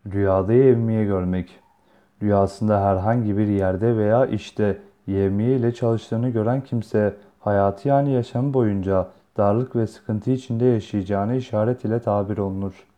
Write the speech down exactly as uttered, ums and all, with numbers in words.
Rüyada yevmiye görmek. Rüyasında herhangi bir yerde veya işte yevmiye ile çalıştığını gören kimse hayatı yani yaşamı boyunca darlık ve sıkıntı içinde yaşayacağını işaret ile tabir olunur.